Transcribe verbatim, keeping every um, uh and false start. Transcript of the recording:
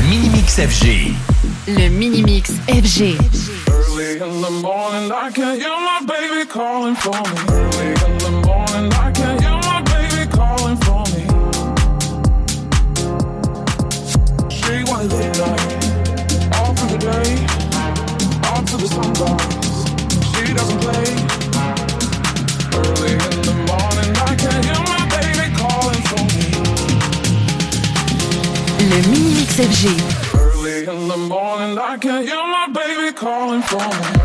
Mini-Mix F G. Le Mini-Mix F G. Early in the morning, I can hear my baby calling for me. Early in the morning, I can hear my baby calling for me. She wanna live life all through the day, all to the sunrise. She doesn't play. Early in the morning, I can hear my baby calling for me. Le Mini-Mix F G. Early in the morning, I can hear my baby calling for me.